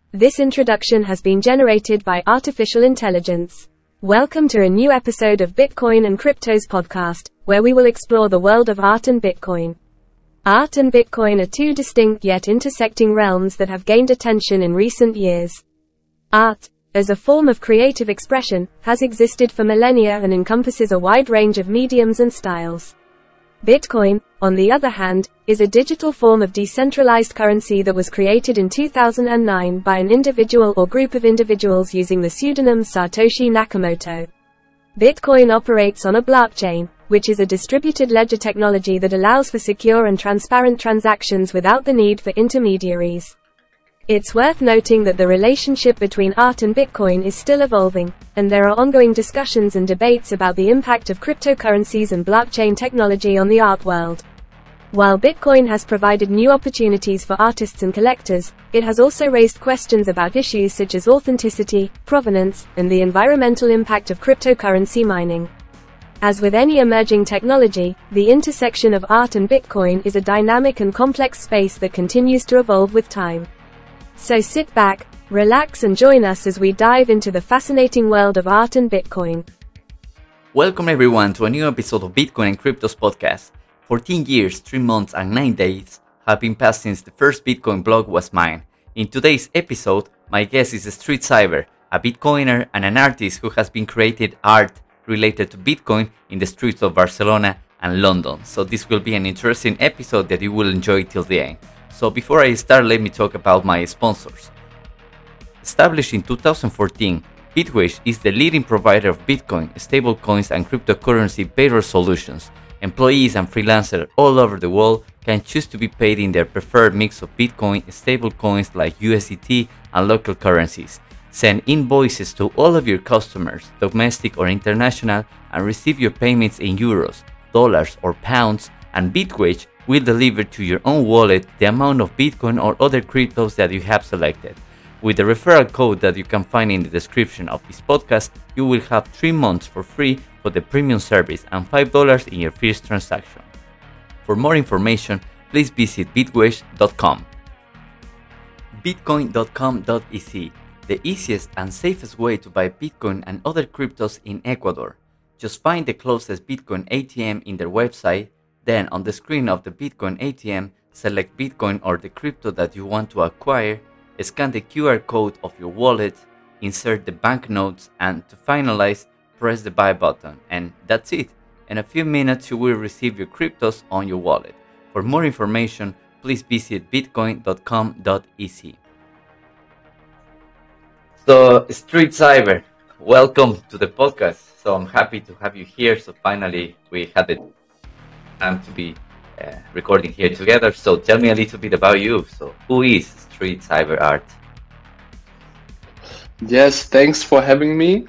This introduction has been generated by artificial intelligence. Welcome to a new episode of Bitcoin and Cryptos podcast, where we will explore the world of art and Bitcoin. Art and Bitcoin are two distinct yet intersecting realms that have gained attention in recent years. Art, as a form of creative expression, has existed for millennia and encompasses a wide range of mediums and styles. Bitcoin, on the other hand, is a digital form of decentralized currency that was created in 2009 by an individual or group of individuals using the pseudonym Satoshi Nakamoto. Bitcoin operates on a blockchain, which is a distributed ledger technology that allows for secure and transparent transactions without the need for intermediaries. It's worth noting that the relationship between art and Bitcoin is still evolving, and there are ongoing discussions and debates about the impact of cryptocurrencies and blockchain technology on the art world. While Bitcoin has provided new opportunities for artists and collectors, it has also raised questions about issues such as authenticity, provenance, and the environmental impact of cryptocurrency mining. As with any emerging technology, the intersection of art and Bitcoin is a dynamic and complex space that continues to evolve with time. So sit back, relax and join us as we dive into the fascinating world of art and Bitcoin. Welcome everyone to a new episode of Bitcoin and Cryptos podcast. 14 years, 3 months and 9 days have been passed since the first Bitcoin block was mined. In today's episode, my guest is Street Cyber, a Bitcoiner and an artist who has been created art related to Bitcoin in the streets of Barcelona and London. So this will be an interesting episode that you will enjoy till the end. So before I start, let me talk about my sponsors. Established in 2014, Bitwage is the leading provider of Bitcoin, stablecoins and cryptocurrency payroll solutions. Employees and freelancers all over the world can choose to be paid in their preferred mix of Bitcoin, stablecoins like USDT and local currencies. Send invoices to all of your customers, domestic or international, and receive your payments in euros, dollars or pounds, and Bitwage will deliver to your own wallet the amount of Bitcoin or other cryptos that you have selected. With the referral code that you can find in the description of this podcast, you will have 3 months for free for the premium service and $5 in your first transaction. For more information, please visit bitwage.com. Bitcoin.com.ez, the easiest and safest way to buy Bitcoin and other cryptos in Ecuador. Just find the closest Bitcoin ATM in their website. Then on the screen of the Bitcoin ATM, select Bitcoin or the crypto that you want to acquire, scan the QR code of your wallet, insert the banknotes, and to finalize, press the buy button. And that's it. In a few minutes you will receive your cryptos on your wallet. For more information, please visit bitcoin.com.ez. So Street Cyber, welcome to the podcast. So I'm happy to have you here. So finally we had the time to be recording here together. So tell me a little bit about you. So who is Street Cyber Art? Yes, thanks for having me.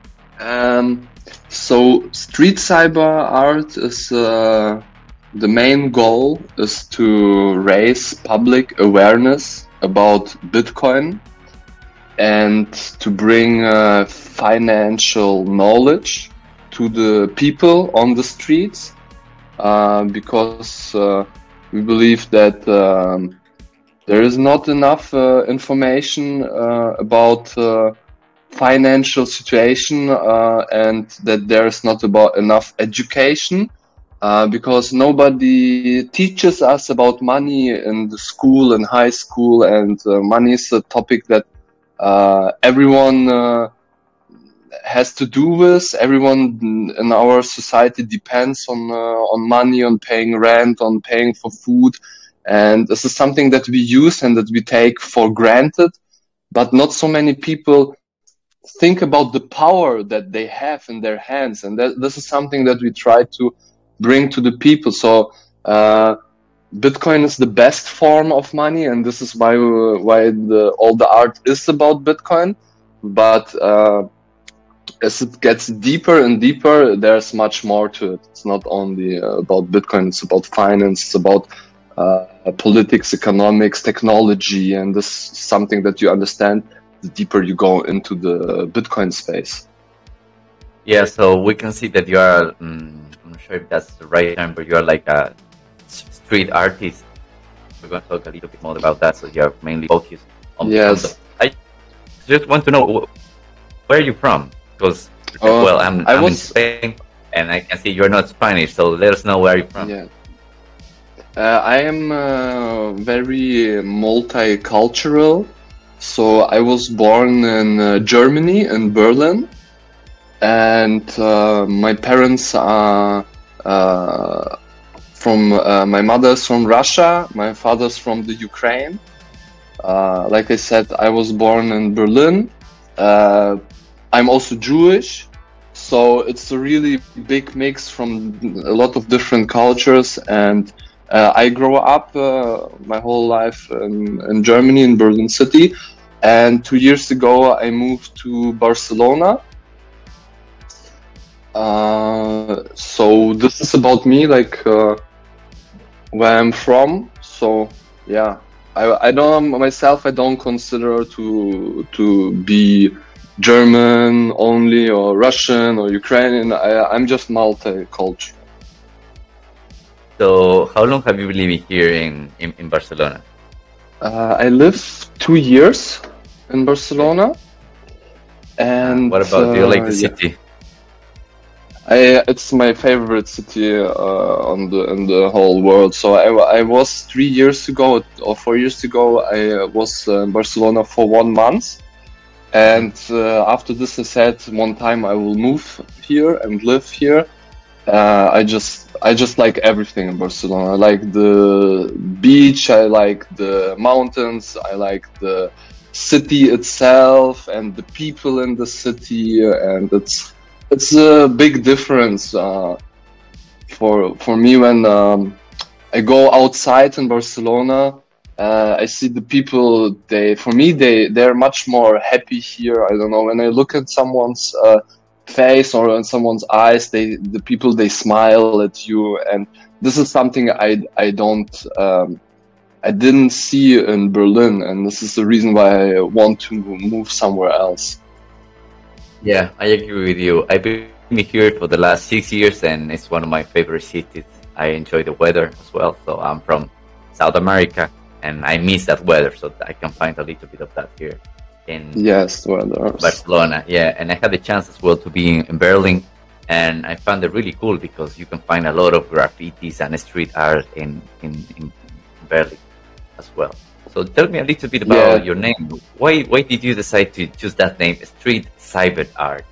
So Street Cyber Art is the main goal is to raise public awareness about Bitcoin and to bring financial knowledge to the people on the streets. Because we believe that there is not enough information about financial situation and that there is not enough education because nobody teaches us about money in the school and high school, and money is a topic that everyone has to do with. Everyone in our society depends on money, on paying rent, on paying for food, and this is something that we use and that we take for granted, but not so many people think about the power that they have in their hands, and this is something that we try to bring to the people. So Bitcoin is the best form of money, and this is why all the art is about Bitcoin, but as it gets deeper and deeper, there's much more to it. It's not only about Bitcoin, it's about finance, it's about politics, economics, technology, and this is something that you understand the deeper you go into the Bitcoin space. Yeah, so we can see that you are, I'm not sure if that's the right term, but you are like a street artist. We're going to talk a little bit more about that, so you're mainly focused on yes. I just want to know where are you from? Because I'm I in was Spain, and I can see you're not Spanish. So let us know where you're from. yeah. I am very multicultural. So I was born in Germany, in Berlin, and my parents are from my mother's from Russia, my father's from the Ukraine. Like I said, I was born in Berlin. I'm also Jewish, so it's a really big mix from a lot of different cultures. And I grew up my whole life in Germany, in Berlin city. And 2 years ago, I moved to Barcelona. So this is about me, like where I'm from. So yeah, I don't myself. I don't consider to be German only or Russian or Ukrainian. I'm just multicultural. So how long have you been living here in Barcelona? I lived 2 years in Barcelona, and What about do you like the yeah, city? it's my favorite city on the in the whole world. So I was 3 years ago or 4 years ago. I was in Barcelona for 1 month, and after this, I said one time I will move here and live here. I just like everything in Barcelona. I like the beach. I like the mountains. I like the city itself and the people in the city, and it's a big difference for me when I go outside in Barcelona. I see the people. They're much more happy here. I don't know, when I look at someone's face or in someone's eyes, the people, they smile at you, and this is something I didn't see in Berlin, and this is the reason why I want to move somewhere else. Yeah, I agree with you. I've been here for the last 6 years, and it's one of my favorite cities. I enjoy the weather as well. So I'm from South America, and I miss that weather, so I can find a little bit of that here in Yes, well, Barcelona. Yeah, and I had the chance as well to be in Berlin, and I found it really cool because you can find a lot of graffitis and street art in Berlin as well. So tell me a little bit about your name. Why did you decide to choose that name, Street Cyber Art?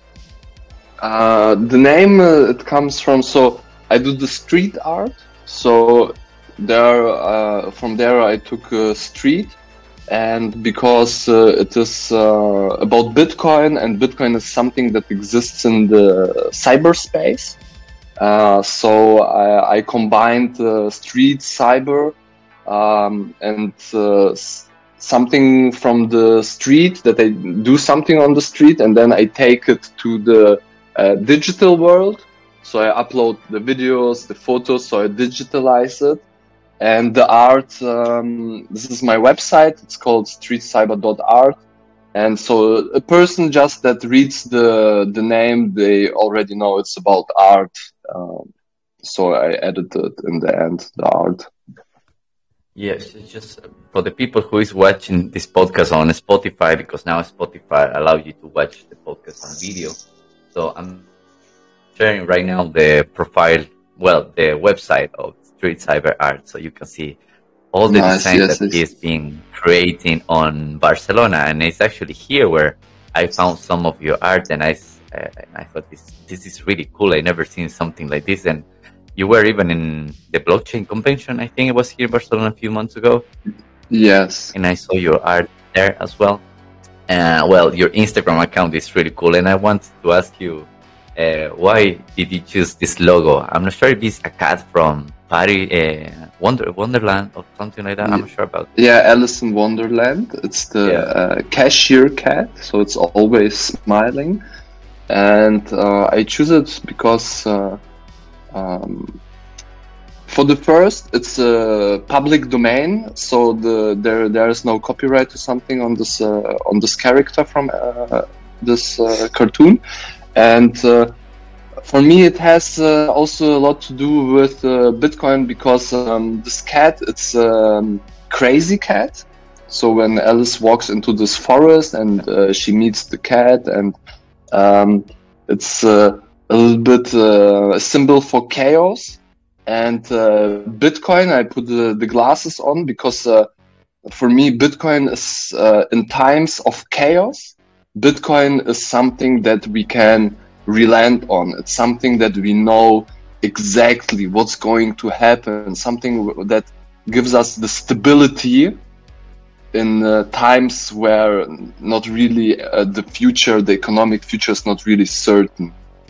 The name it comes from, so I do the street art. So there, from there I took street, and because it is about Bitcoin, and Bitcoin is something that exists in the cyberspace. So I combined street, cyber, and something from the street, that I do something on the street, and then I take it to the digital world. So I upload the videos, the photos, so I digitalize it. And the art, this is my website, it's called streetcyber.art. And so a person just that reads the name, they already know it's about art. So I edited in the end the art. Yes, it's just for the people who is watching this podcast on Spotify, because now Spotify allow you to watch the podcast on video. So I'm sharing right now the profile, the website of Street Cyber Art, so you can see all the designs that he's been creating on Barcelona. And it's actually here where I found some of your art, and I thought this is really cool. I never seen something like this. And you were even in the blockchain convention, I think it was here in Barcelona a few months ago. Yes. And I saw your art there as well. Your Instagram account is really cool. And I want to ask you, why did you choose this logo? I'm not sure if it's a cat from Paris, Wonderland or something like that. I'm not sure about it. Yeah, Alice in Wonderland. It's the cashier cat, so it's always smiling. And I choose it because for the first, it's a public domain, so there is no copyright or something on this character from this cartoon. And for me, it has also a lot to do with Bitcoin, because this cat, it's crazy cat. So when Alice walks into this forest and she meets the cat, and it's a little bit a symbol for chaos. And Bitcoin, I put the glasses on because for me, Bitcoin is in times of chaos. Bitcoin is something that we can relent on. It's something that we know exactly what's going to happen, something that gives us the stability in times where not really the economic future is not really certain.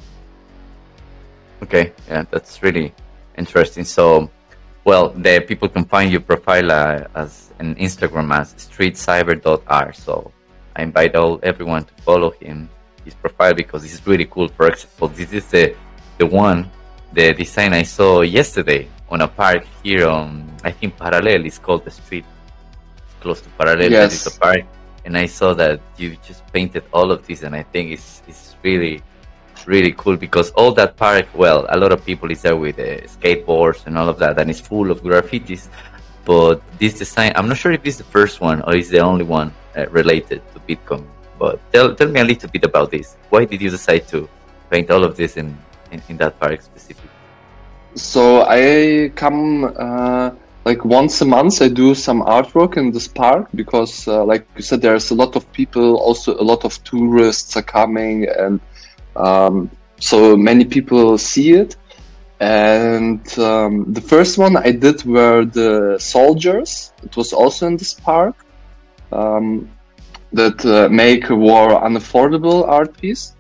Okay, yeah, that's really interesting. So, well, the people can find your profile as an Instagram as streetcyber.r. So I invite everyone to follow his profile, because this is really cool. For example, this is the design I saw yesterday on a park here on, I think, Parallel. It's called the street. It's close to Parallel. Yes. That is a park. And I saw that you just painted all of this, and I think it's really cool, because all that park, well, a lot of people is there with skateboards and all of that, and it's full of graffitis. But this design, I'm not sure if it's the first one or is the only one related to Bitcoin. But tell me a little bit about this. Why did you decide to paint all of this in that park specifically? So I come like once a month. I do some artwork in this park because, like you said, there's a lot of people. Also, a lot of tourists are coming, and so many people see it. And the first one I did were the soldiers. It was also in this park that make a war unaffordable art piece.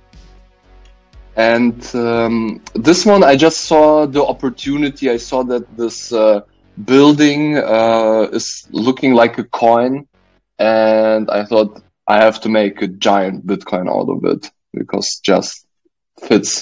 And this one, I just saw the opportunity. I saw that this building is looking like a coin, and I thought I have to make a giant Bitcoin out of it because just fits.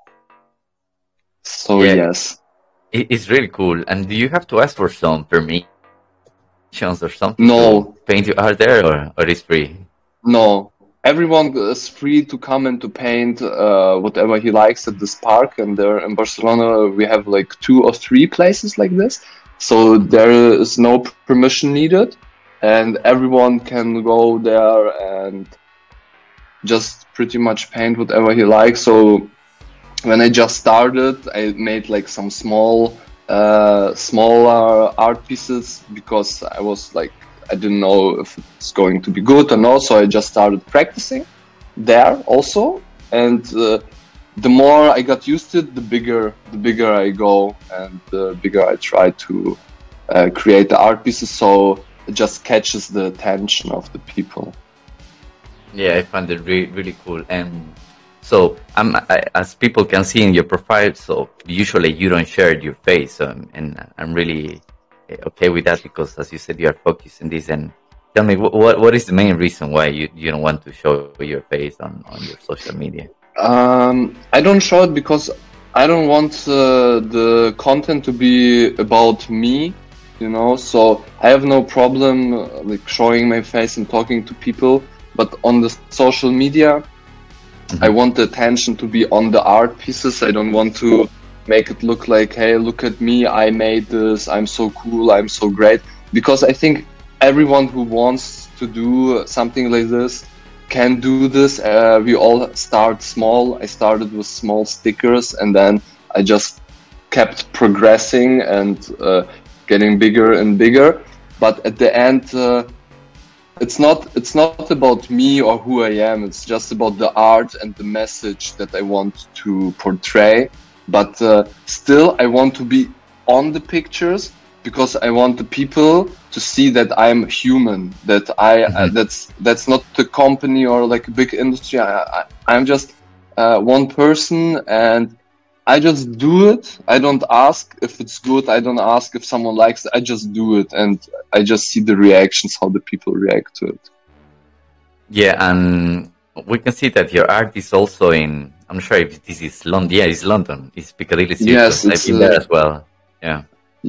So Yeah. yes. It's really cool. And do you have to ask for some permissions or something No. to paint your art there, or it's free? No, everyone is free to come and to paint whatever he likes at this park. And there in Barcelona, we have like 2 or 3 places like this. So there is no permission needed, and everyone can go there and just pretty much paint whatever he likes. So when I just started, I made like some smaller art pieces because I was like, I didn't know if it's going to be good or not. So I just started practicing there also. And the more I got used to it, the bigger I go, and the bigger I try to create the art pieces. So it just catches the attention of the people. Yeah, I find it really cool. And so, as people can see in your profile, so usually you don't share your face, and I'm really okay with that, because, as you said, you are focused in this. And tell me, what is the main reason why you don't want to show your face on your social media? I don't show it because I don't want the content to be about me, so I have no problem like showing my face and talking to people, but on the social media, I want the attention to be on the art pieces. I don't want to make it look like, hey, look at me, I made this, I'm so cool, I'm so great. Because I think everyone who wants to do something like this can do this. We all start small. I started with small stickers, and then I just kept progressing and getting bigger and bigger. But at the end, it's not about me or who I am. It's just about the art and the message that I want to portray. But still, I want to be on the pictures because I want the people to see that I'm human. That that's not the company or like a big industry. I'm just one person, and I just do it. I don't ask if it's good. I don't ask if someone likes it. I just do it, and I just see the reactions, how the people react to it. Yeah, and we can see that your art is also in, I'm not sure if this is London. Yeah, it's London. It's Piccadilly Circus. Yes, I've been there as well. Yeah.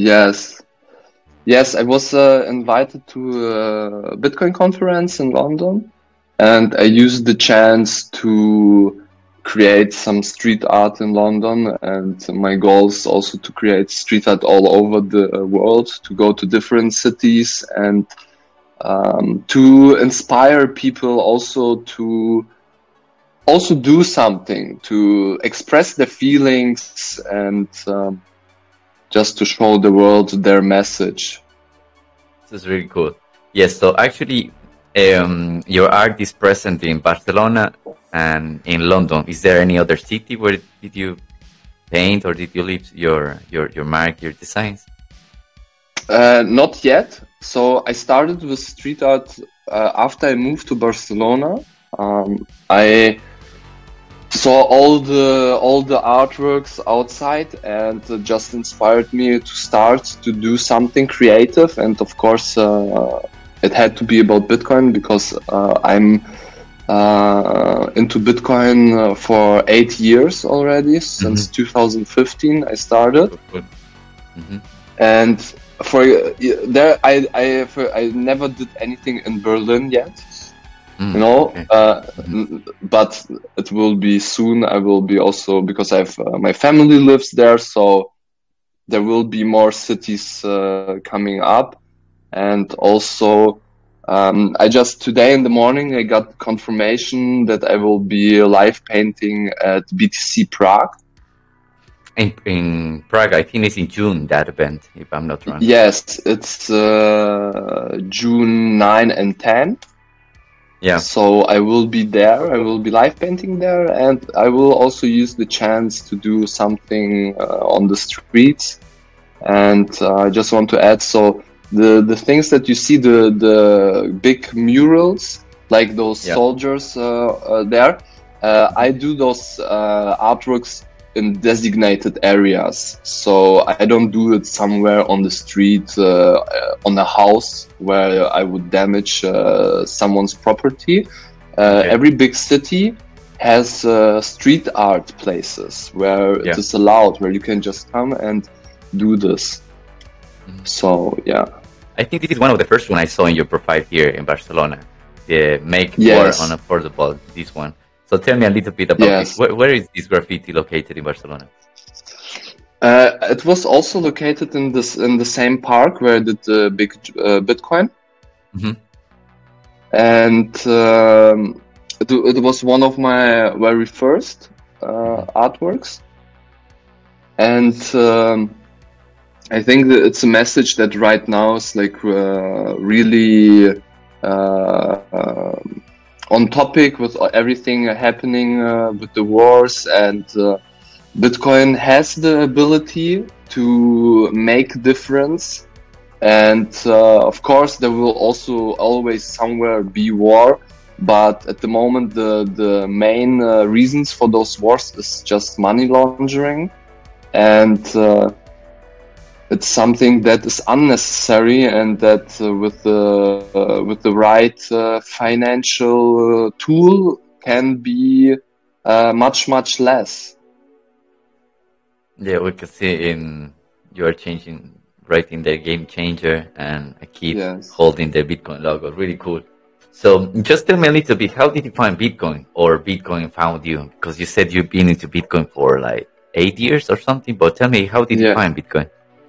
Yes, I was invited to a Bitcoin conference in London, and I used the chance to create some street art in London. And my goal is also to create street art all over the world, to go to different cities and to inspire people also to also do something, to express their feelings, and just to show the world their message. This is really cool. Yes, so actually, your art is present in Barcelona and in London. Is there any other city where did you paint or did you leave your mark, your designs? Not yet. So I started with street art after I moved to Barcelona. I saw all the artworks outside, and just inspired me to start to do something creative. And of course, it had to be about Bitcoin, because I'm into Bitcoin for 8 years already. Since 2015 I started. Mm-hmm. And for there I never did anything in Berlin yet. Okay. But it will be soon. I will be also, because I've my family lives there, so there will be more cities coming up. And also, I just today in the morning I got confirmation that I will be live painting at BTC Prague. In Prague, I think it's in June, that event, if I'm not wrong. Yes, it's June 9 and 10. Yeah. So I will be there. I will be live painting there, and I will also use the chance to do something on the streets. And I just want to add, so the things that you see, the big murals, like those soldiers there, I do those artworks in designated areas. So I don't do it somewhere on the street, on a house where I would damage someone's property. Every big city has street art places where it is allowed, where you can just come and do this. So I think this is one of the first one I saw in your profile here in Barcelona. The Make War Unaffordable, this one. So tell me a little bit about this. Where is this graffiti located in Barcelona? It was also located in the same park where I did the big Bitcoin. And it was one of my very first artworks. And I think that it's a message that right now is like really on topic with everything happening with the wars, and Bitcoin has the ability to make difference. And of course there will also always somewhere be war, but at the moment the main reasons for those wars is just money laundering, and it's something that is unnecessary, and that with the right financial tool can be much less. Yeah, we can see you are changing, writing the game changer, and I keep holding the Bitcoin logo. Really cool. So just tell me a little bit, how did you find Bitcoin, or Bitcoin found you? Because you said you've been into Bitcoin for like 8 years or something, but tell me, how did you find Bitcoin?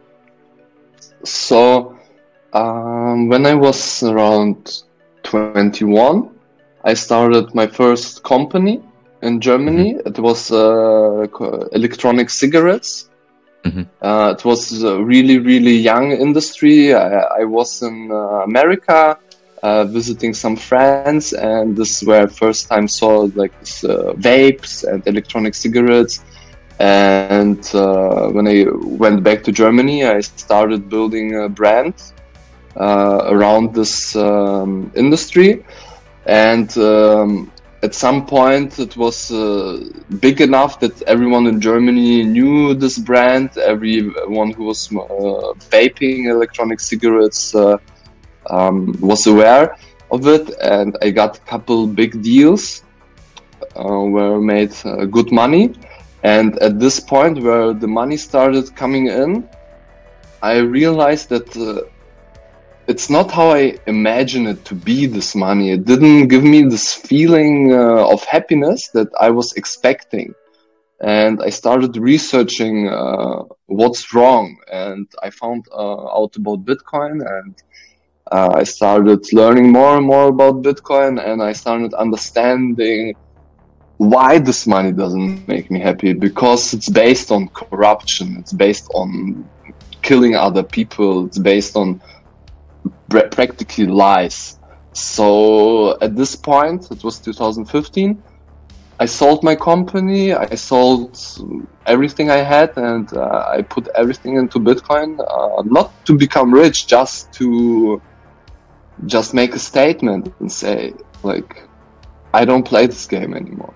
So when I was around 21, I started my first company in Germany. It was electronic cigarettes. It was a really young industry. I was in America visiting some friends, and this is where I first time saw like this, vapes and electronic cigarettes. And when I went back to Germany, I started building a brand around this industry. And at some point it was big enough that everyone in Germany knew this brand. Everyone who was vaping electronic cigarettes was aware of it. And I got a couple big deals where I made good money. And at this point where the money started coming in, I realized that it's not how I imagine it to be, this money. It didn't give me this feeling of happiness that I was expecting. And I started researching what's wrong. And I found out about Bitcoin, and I started learning more and more about Bitcoin, and I started understanding why this money doesn't make me happy, because it's based on corruption, it's based on killing other people, it's based on practically lies. So at this point, it was 2015, I sold my company, I sold everything I had, and I put everything into Bitcoin, not to become rich, just to make a statement and say, like, I don't play this game anymore.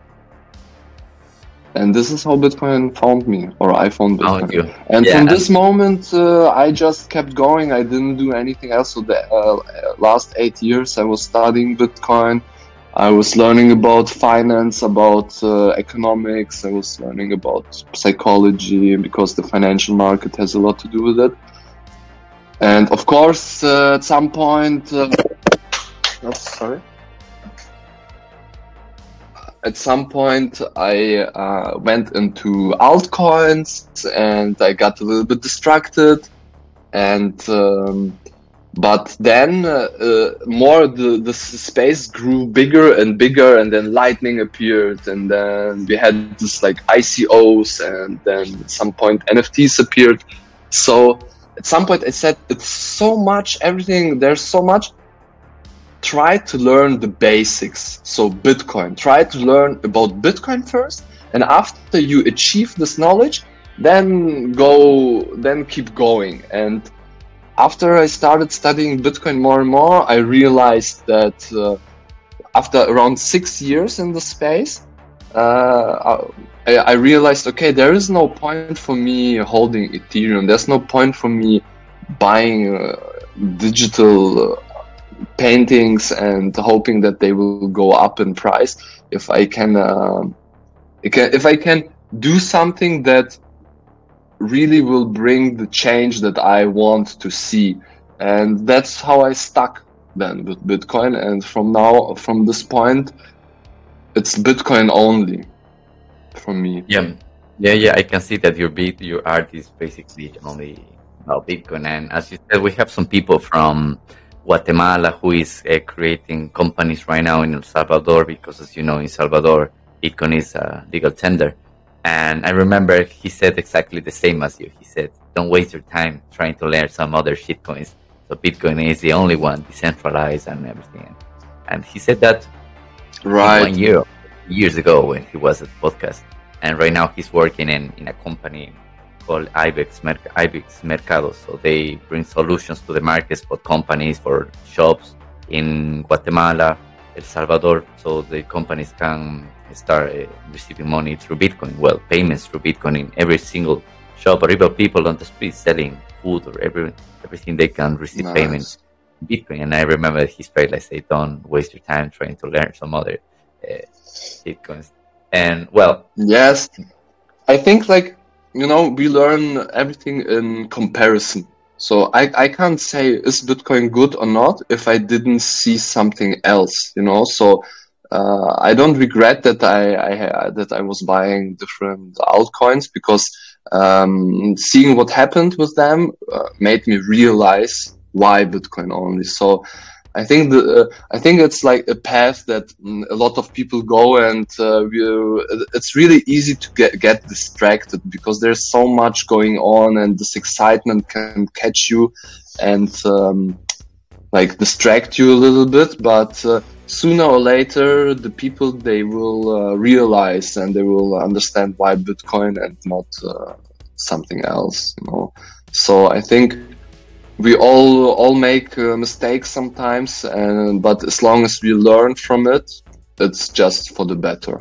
And this is how Bitcoin found me, or I found Bitcoin. And from this moment, I just kept going. I didn't do anything else. So the last 8 years, I was studying Bitcoin. I was learning about finance, about economics. I was learning about psychology, because the financial market has a lot to do with it. And of course, at some point, At some point, I went into altcoins, and I got a little bit distracted. And but then more the space grew bigger and bigger, and then Lightning appeared, and then we had this like ICOs, and then at some point NFTs appeared. So at some point I said, it's so much, everything, there's so much. Try to learn the basics. So Bitcoin, try to learn about Bitcoin first, and after you achieve this knowledge, then keep going. And after I started studying Bitcoin more and more, I realized that after around 6 years in the space, I realized, okay, there is no point for me holding Ethereum. There's no point for me buying digital paintings and hoping that they will go up in price. If I can do something that really will bring the change that I want to see. And that's how I stuck then with Bitcoin. And from this point, it's Bitcoin only for me. Yeah. I can see that your art is basically only about Bitcoin. And as you said, we have some people from Guatemala who is creating companies right now in El Salvador, because as you know, in Salvador, Bitcoin is a legal tender. And I remember he said exactly the same as you. He said, don't waste your time trying to learn some other shitcoins. So Bitcoin is the only one, decentralized and everything. And he said that 1 year, years ago when he was at the podcast. And right now he's working in a company called Ibex Mercado. So they bring solutions to the markets for companies, for shops in Guatemala, El Salvador, so the companies can start receiving money through Bitcoin. Well, payments through Bitcoin in every single shop, or even people on the street selling food or everything, they can receive payments in Bitcoin. And I remember his phrase, I say, don't waste your time trying to learn some other Bitcoins. And well, yes, I think we learn everything in comparison. So I can't say is Bitcoin good or not if I didn't see something else, So I don't regret that I was buying different altcoins, because seeing what happened with them made me realize why Bitcoin only. So I think it's like a path that a lot of people go, and it's really easy to get distracted, because there's so much going on, and this excitement can catch you and distract you a little bit. But sooner or later, the people, they will realize, and they will understand why Bitcoin and not something else. So I think we all make mistakes sometimes, but as long as we learn from it, it's just for the better.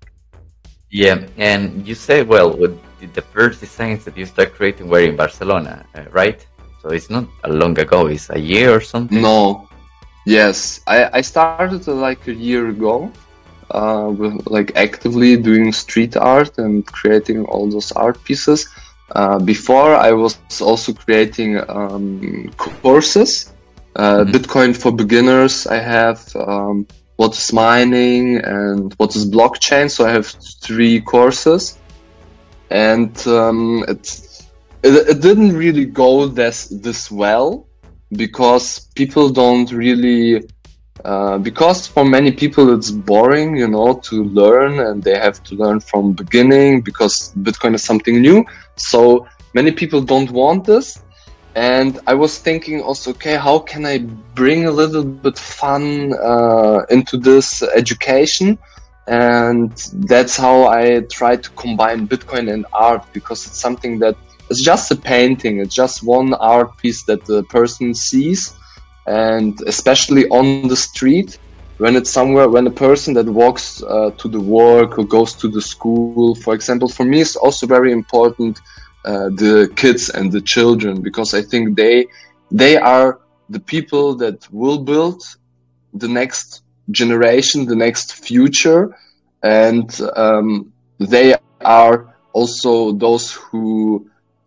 Yeah, and you say, well, with the first designs that you start creating were in Barcelona, right? So it's not long ago, it's a year or something? No, yes, I started like a year ago with actively doing street art and creating all those art pieces. Before, I was also creating courses, Bitcoin for beginners. I have what is mining and what is blockchain. So I have 3 courses, and it didn't really go this well, because people don't really because for many people it's boring, to learn, and they have to learn from beginning because Bitcoin is something new. So many people don't want this. And I was thinking also, okay, how can I bring a little bit fun into this education? And that's how I try to combine Bitcoin and art, because it's something that it's just a painting. It's just one art piece that the person sees. And especially on the street, when it's somewhere, when a person that walks to the work or goes to the school, for example, for me, it's also very important, the kids and the children, because I think they are the people that will build the next generation, the next future, and they are also those who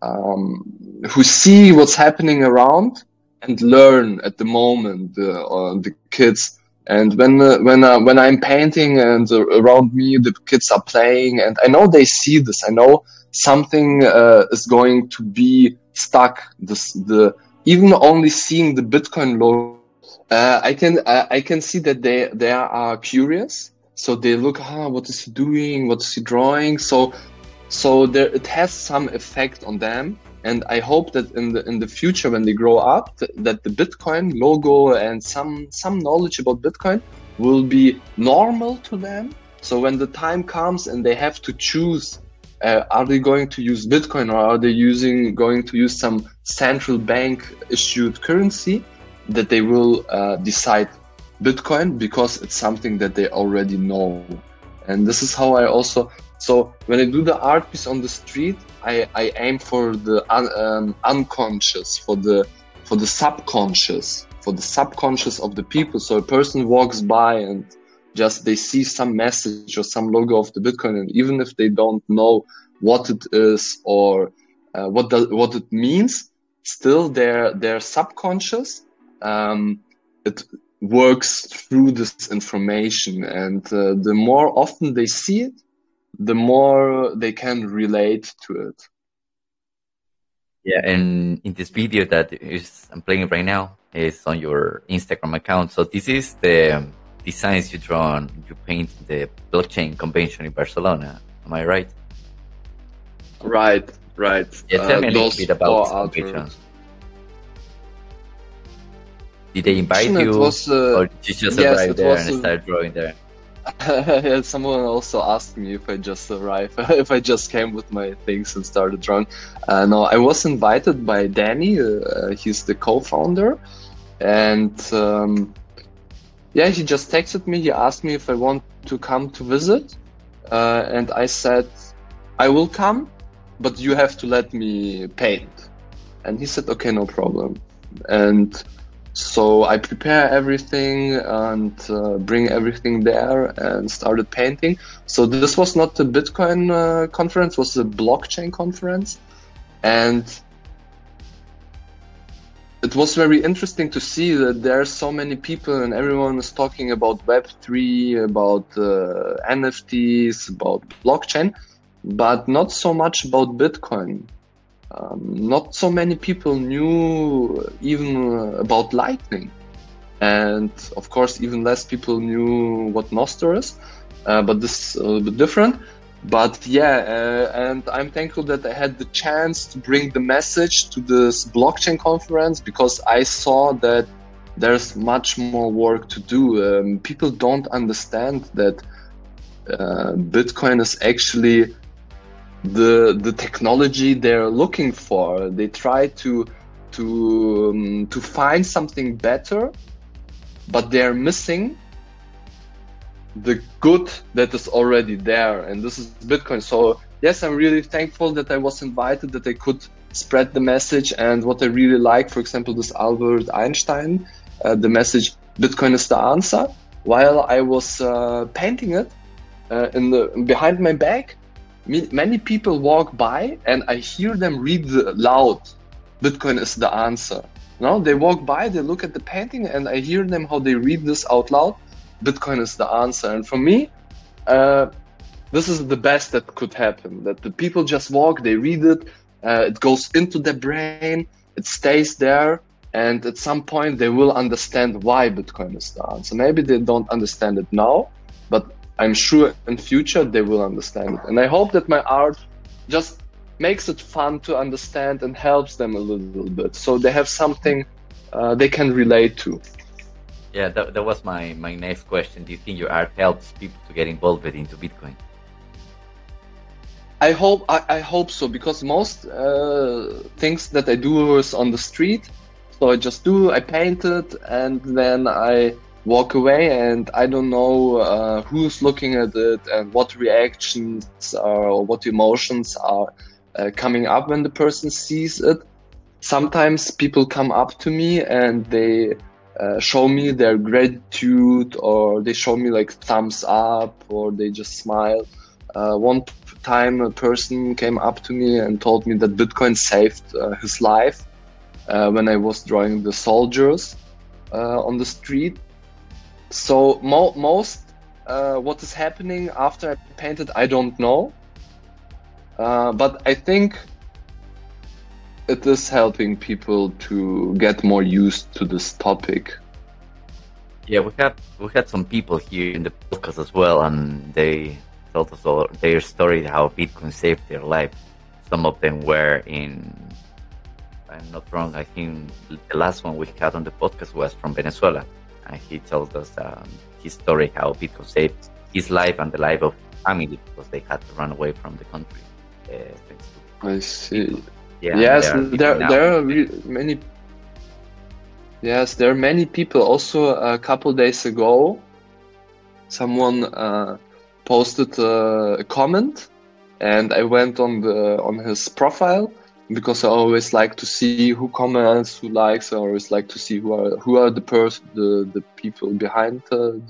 see what's happening around and learn at the moment, the kids. And when I'm painting and around me the kids are playing, and I know they see this, I know something is going to be stuck. Even only seeing the Bitcoin logo, I can see that they are curious. So they look, what is he doing? What is he drawing? So there, it has some effect on them. And I hope that in the future, when they grow up, that the Bitcoin logo and some knowledge about Bitcoin will be normal to them. So when the time comes and they have to choose, are they going to use Bitcoin, or are they going to use some central bank issued currency, that they will decide Bitcoin, because it's something that they already know. And this is how I also. So when I do the art piece on the street, I aim for the unconscious, for the subconscious, of the people. So a person walks by and just they see some message or some logo of the Bitcoin, and even if they don't know what it is or what it means, still their subconscious it works through this information, and the more often they see it, the more they can relate to it. Yeah, and in this video that I'm playing right now is on your Instagram account. So this is the designs you paint the blockchain convention in Barcelona. Am I right? Right. Yeah, tell me a little bit about this convention. Did they invite you, or did you just arrive there and start drawing there? Someone also asked me if I just arrived, if I just came with my things and started drawing. No, I was invited by Danny. He's the co-founder, and he just texted me. He asked me if I want to come to visit, and I said I will come, but you have to let me paint. And he said, okay, no problem. And so I prepare everything and bring everything there and started painting. So this was not a Bitcoin conference, it was a blockchain conference. And it was very interesting to see that there are so many people and everyone is talking about Web3, about NFTs, about blockchain, but not so much about Bitcoin. Not so many people knew even about Lightning, and of course even less people knew what Nostr is, but this is a little bit different. But and I'm thankful that I had the chance to bring the message to this blockchain conference, because I saw that there's much more work to do. People don't understand that Bitcoin is actually the technology they're looking for. They try to find something better, but they're missing the good that is already there, and this is Bitcoin. So yes, I'm really thankful that I was invited, that I could spread the message. And what I really like, for example, this Albert Einstein, the message Bitcoin is the answer. While I was painting it behind my back, many people walk by and I hear them read loud, Bitcoin is the answer. No, they walk by, they look at the painting, and I hear them how they read this out loud, Bitcoin is the answer. And for me, this is the best that could happen, that the people just walk, they read it, it goes into their brain, it stays there, and at some point they will understand why Bitcoin is the answer. Maybe they don't understand it now, but I'm sure in future they will understand it. And I hope that my art just makes it fun to understand and helps them a little bit, so they have something they can relate to. Yeah, that was my next question. Do you think your art helps people to get involved into Bitcoin? I hope so, because most things that I do is on the street. So I paint it, and then I walk away, and I don't know who's looking at it and what reactions or what emotions are coming up when the person sees it. Sometimes people come up to me and they show me their gratitude, or they show me like thumbs up, or they just smile. One time a person came up to me and told me that Bitcoin saved his life when I was drawing the soldiers on the street. So most what is happening after I painted, I don't know. But I think it is helping people to get more used to this topic. Yeah, we had some people here in the podcast as well, and they told us their story, how Bitcoin saved their life. Some of them were in, if I'm not wrong, I think the last one we had on the podcast was from Venezuela, and he told us his story, how Bitcoin saved his life and the life of his family, because they had to run away from the country. Thanks to I see. Yeah, Yes, there are many. Yes, there are many people. Also, a couple days ago, someone posted a comment, and I went on his profile, because I always like to see who comments, who likes. I always like to see who are the people behind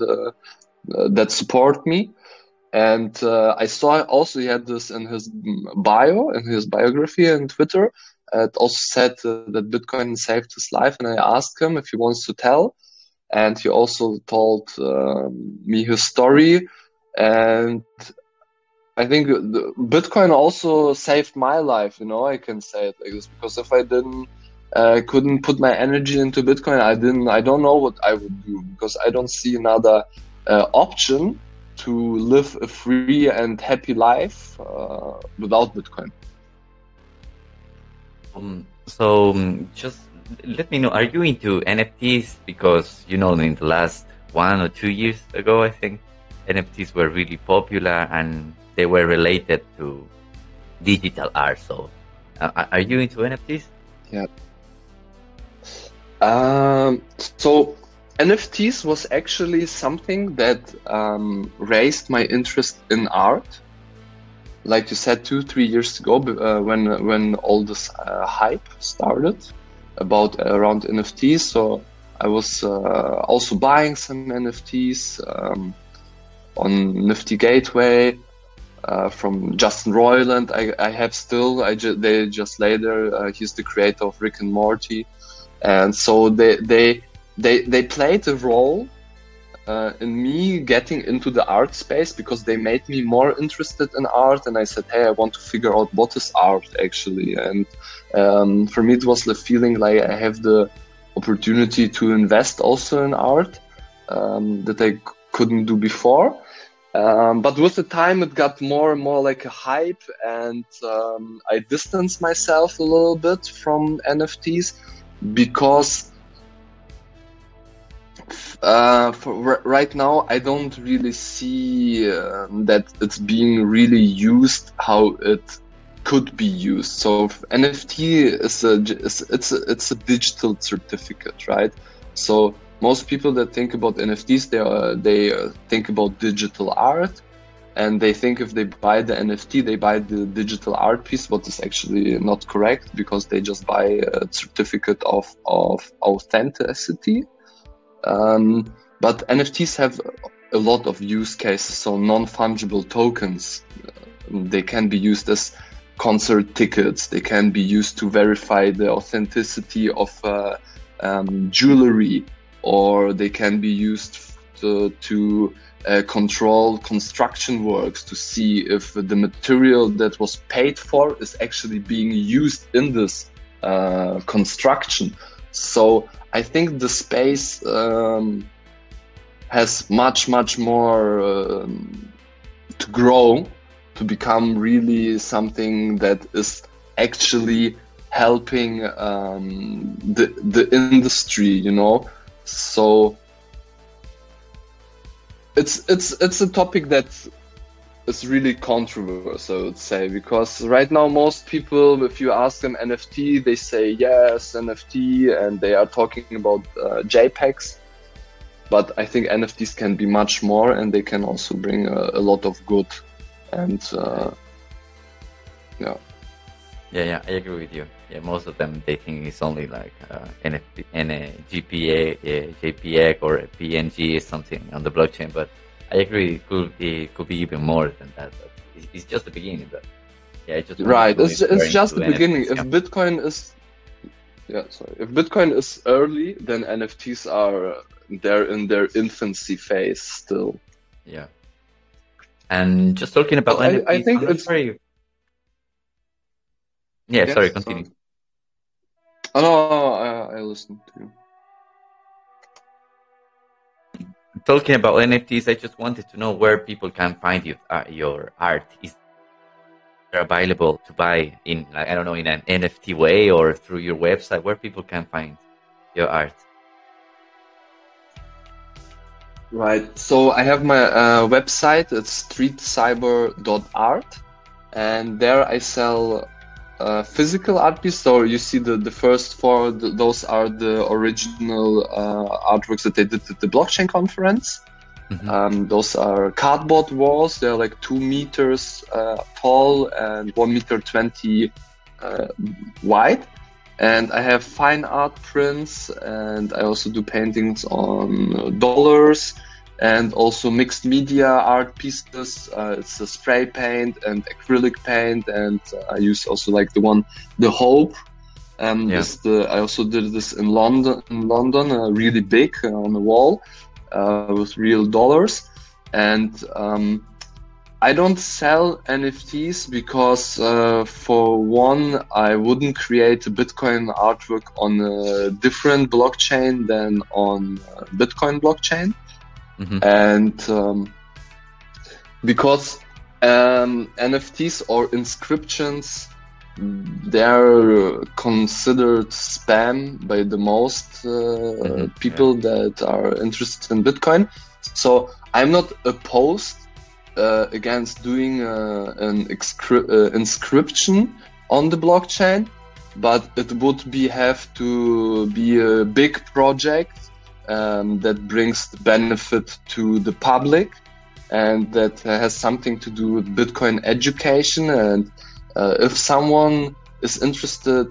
that support me. And I saw also he had this in his bio, in his biography on Twitter. It also said that Bitcoin saved his life, and I asked him if he wants to tell. And he also told me his story. And I think Bitcoin also saved my life, I can say it like this, because if I couldn't put my energy into Bitcoin, I don't know what I would do, because I don't see another option to live a free and happy life without Bitcoin. Just let me know, are you into NFTs? Because, in the last 1 or 2 years ago, I think NFTs were really popular and they were related to digital art. So are you into NFTs? Yeah. So NFTs was actually something that raised my interest in art. Like you said, 2-3 years ago, when all this hype started around NFTs. So I was also buying some NFTs on Nifty Gateway from Justin Roiland. I have still. They just later. He's the creator of Rick and Morty, and so they played a role in me getting into the art space, because they made me more interested in art. And I said, hey, I want to figure out what is art actually. And for me, it was the feeling like I have the opportunity to invest also in art that I couldn't do before. But with the time, it got more and more like a hype, and I distanced myself a little bit from NFTs, because for right now, I don't really see that it's being really used how it could be used. So NFT is a digital certificate, right? So most people that think about NFTs, they think about digital art, and they think if they buy the NFT, they buy the digital art piece, what is actually not correct, because they just buy a certificate of authenticity. But NFTs have a lot of use cases. So non-fungible tokens, they can be used as concert tickets. They can be used to verify the authenticity of jewelry, or they can be used to control construction works, to see if the material that was paid for is actually being used in this construction. So I think the space has much more to grow, to become really something that is actually helping the industry, you know. So it's a topic that is really controversial, I would say, because right now most people, if you ask them NFT, they say yes, NFT, and they are talking about JPEGs. But I think NFTs can be much more, and they can also bring a lot of good. And yeah, I agree with you. Yeah, most of them, they think it's only like NFT and a JPEG or a PNG, something on the blockchain. But I agree, it could be even more than that. But it's just the beginning. But yeah, it's just the beginning. NFTs, if Bitcoin is if Bitcoin is early, then NFTs are they're in their infancy phase still. Yeah. And just talking about NFTs, I think it's very... Yeah, yes, sorry, continue. Oh no, I listened to you. Talking about NFTs, I just wanted to know where people can find your art. Is it available to buy in, like, I don't know, in an NFT way or through your website, where people can find your art? Right. So I have my website. It's streetcyber.art, and there I sell physical art pieces. So you see the first four, those are the original artworks that they did at the blockchain conference. Mm-hmm. Those are cardboard walls. They're like 2 meters tall and 1.20 meters wide. And I have fine art prints, and I also do paintings on dollars, and also mixed media art pieces. It's a spray paint and acrylic paint, and I use also like the Hope. I also did this in London, really big on the wall with real dollars. And I don't sell NFTs because, for one, I wouldn't create a Bitcoin artwork on a different blockchain than on Bitcoin blockchain. Mm-hmm. And because NFTs or inscriptions, they're considered spam by the most people that are interested in Bitcoin. So I'm not opposed against doing an inscription on the blockchain, but it would have to be a big project that brings the benefit to the public, and that has something to do with Bitcoin education. And if someone is interested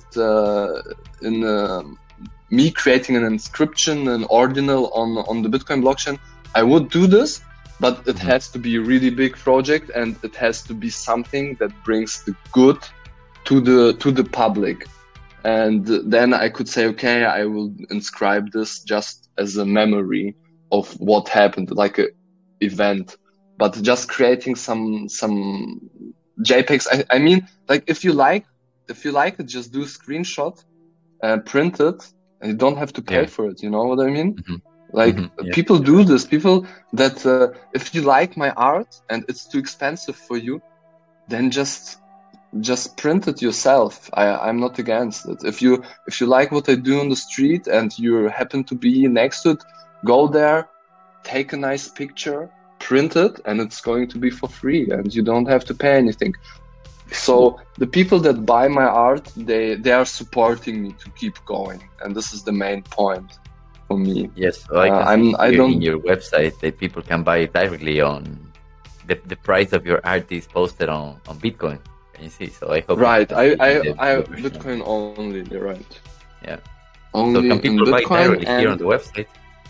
in me creating an inscription, an ordinal on the Bitcoin blockchain, I would do this. But it has to be a really big project, and it has to be something that brings the good to the public. And then I could say, okay, I will inscribe this just as a memory of what happened, like an event. But just creating some JPEGs. I mean, like if you like it, just do a screenshot, print it, and you don't have to pay for it. You know what I mean? Mm-hmm. Like people do this. People that if you like my art and it's too expensive for you, then just print it yourself. I'm not against it. If you like what I do on the street and you happen to be next to it, go there, take a nice picture, print it, and it's going to be for free, and you don't have to pay anything. So the people that buy my art, they are supporting me to keep going, and this is the main point for me. Yes, so I don't in your website that people can buy it directly on the price of your art is posted on Bitcoin. Can you see? So I hope. Right, I Bitcoin only. You're right. Yeah. Only so can people buy directly here on the website?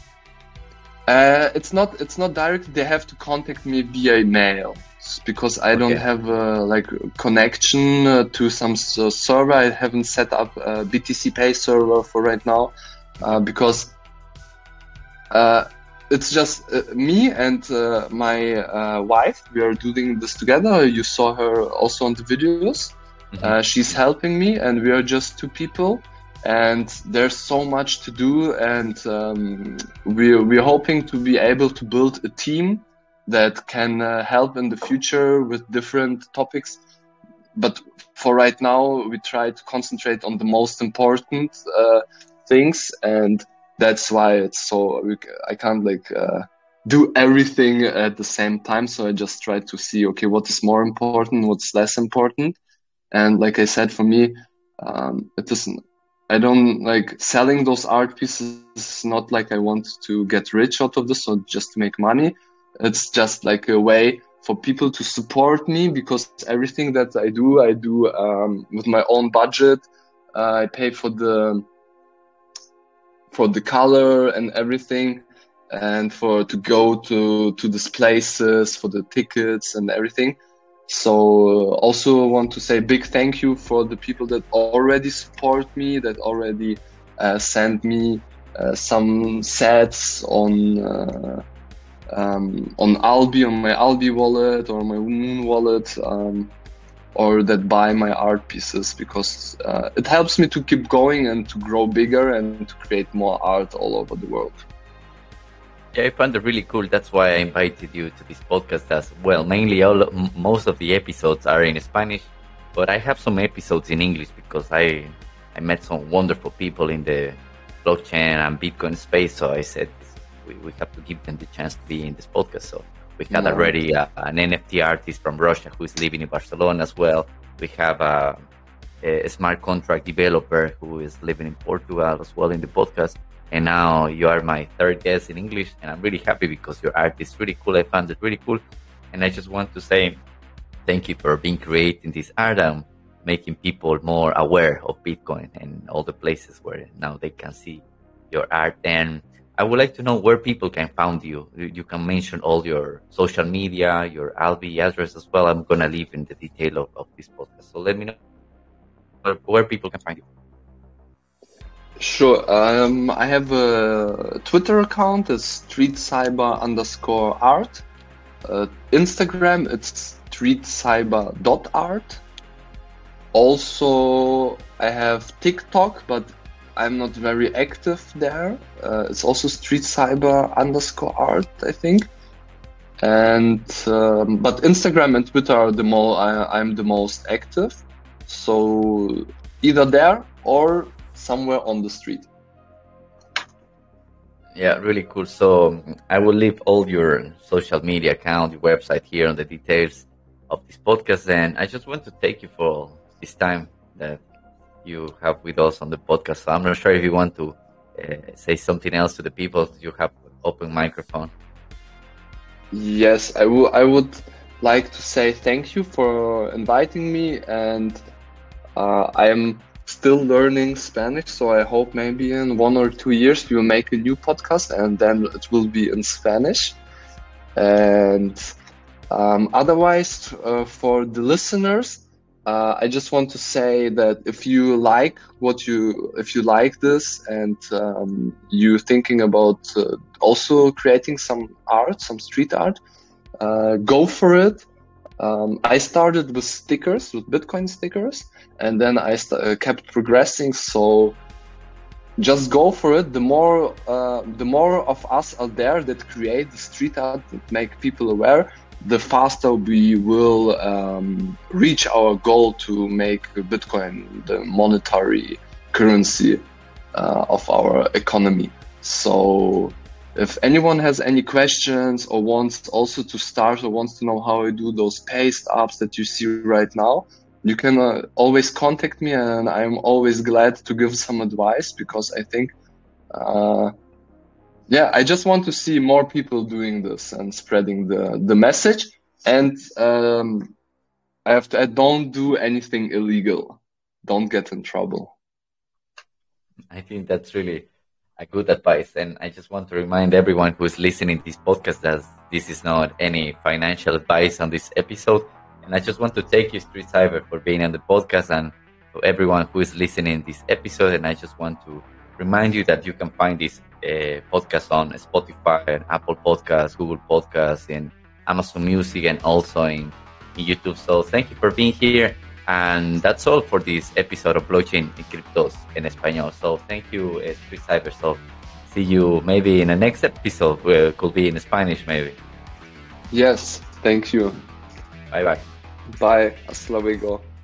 It's not direct. They have to contact me via mail because I don't have a connection to some server. I haven't set up a BTC Pay server for right now because it's just me and my wife. We are doing this together. You saw her also on the videos. Mm-hmm. She's helping me, and we are just 2 people. and there's so much to do, and we're hoping to be able to build a team that can help in the future with different topics. But for right now, we try to concentrate on the most important things, and that's why I can't do everything at the same time. So I just try to see, okay, what is more important, what's less important. And like I said, for me, it isn't. I don't like selling those art pieces. It's not like I want to get rich out of this or just to make money. It's just like a way for people to support me, because everything that I do with my own budget. I pay for the color and everything, and to go to these places, for the tickets and everything. So also want to say big thank you for the people that already support me, that already send me some sets on Albi, on my Albi wallet or my Moon wallet, or that buy my art pieces, because it helps me to keep going and to grow bigger and to create more art all over the world. Yeah, I found it really cool. That's why I invited you to this podcast as well. Mainly, most of the episodes are in Spanish, but I have some episodes in English because I met some wonderful people in the blockchain and Bitcoin space. So I said we have to give them the chance to be in this podcast. So we had already an NFT artist from Russia who is living in Barcelona as well. We have a smart contract developer who is living in Portugal as well in the podcast. And now you are my third guest in English, and I'm really happy because your art is really cool. I found it really cool. And I just want to say thank you for being creating this art and making people more aware of Bitcoin and all the places where now they can see your art. And I would like to know where people can find you. You can mention all your social media, your Albi address as well. I'm going to leave in the detail of this podcast. So let me know where people can find you. Sure. I have a Twitter account. It's streetcyber_art. Instagram, it's streetcyber.art. Also, I have TikTok, but I'm not very active there. It's also streetcyber_art, I think. And but Instagram and Twitter are I'm the most active. So either there or somewhere on the street. Yeah, really cool. So I will leave all your social media account, your website here on the details of this podcast. And I just want to thank you for this time that you have with us on the podcast. So I'm not sure if you want to say something else to the people. You have open microphone. Yes, I would like to say thank you for inviting me, and I am still learning Spanish, so I hope maybe in 1 or 2 years we will make a new podcast and then it will be in Spanish. And otherwise, for the listeners, I just want to say that if you like this and you're thinking about also creating some art, some street art, go for it. I started with stickers, with Bitcoin stickers, and then I kept progressing. So just go for it. The more of us out there that create the street art, that make people aware, the faster we will reach our goal to make Bitcoin the monetary currency of our economy. So if anyone has any questions or wants also to start or wants to know how I do those paste apps that you see right now, you can always contact me, and I'm always glad to give some advice, because I think, I just want to see more people doing this and spreading the message. And I have to add, don't do anything illegal. Don't get in trouble. I think that's really a good advice. And I just want to remind everyone who is listening to this podcast that this is not any financial advice on this episode. And I just want to thank you, Street Cyber, for being on the podcast, and to everyone who is listening to this episode. And I just want to remind you that you can find this podcast on Spotify and Apple Podcasts, Google Podcasts, and Amazon Music, and also in YouTube. So thank you for being here. And that's all for this episode of Blockchain y Cryptos en Español. So thank you, Street Cyber. So see you maybe in the next episode, where it could be in Spanish maybe. Yes, thank you. Bye bye. Bye. Hasta luego.